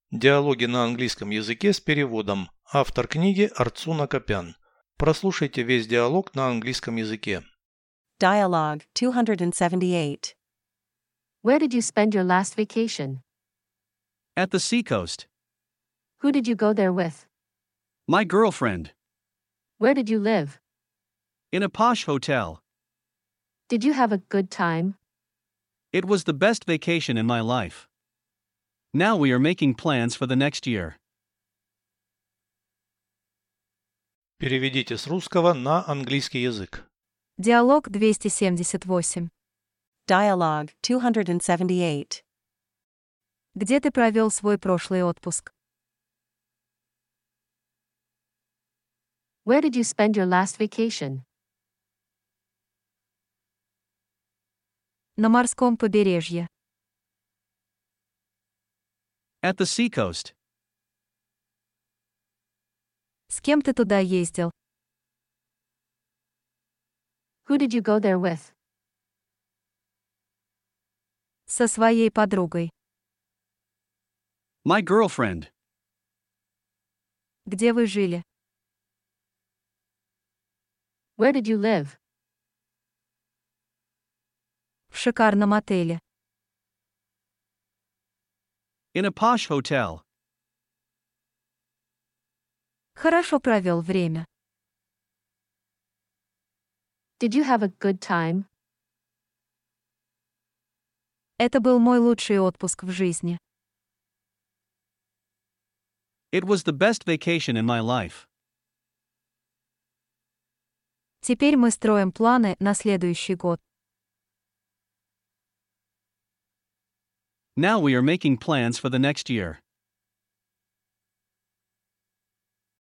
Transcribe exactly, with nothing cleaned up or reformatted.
Диалоги на английском языке с переводом. Автор книги Арцуна Копян. Прослушайте весь диалог на английском языке. Dialogue two seventy-eight. Where did you spend your last vacation? At the seacoast. Who did you go there with? My girlfriend. Where did you live? In a posh hotel. Did you have a good time? It was the best vacation in my life. Now we are making plans for the next year. Переведите с русского на английский язык. Диалог двести семьдесят восемь. Dialogue two seventy-eight. Где ты провел свой прошлый отпуск? Where did you spend your last vacation? На морском побережье. At the seacoast. С кем ты туда ездил? Who did you go there with? Со своей подругой. My girlfriend. Где вы жили? Where did you live? В шикарном отеле. In a posh hotel. Хорошо провел время. Did you have a good time? Это был мой лучший отпуск в жизни. It was the best vacation in my life. Теперь мы строим планы на следующий год. Now we are making plans for the next year.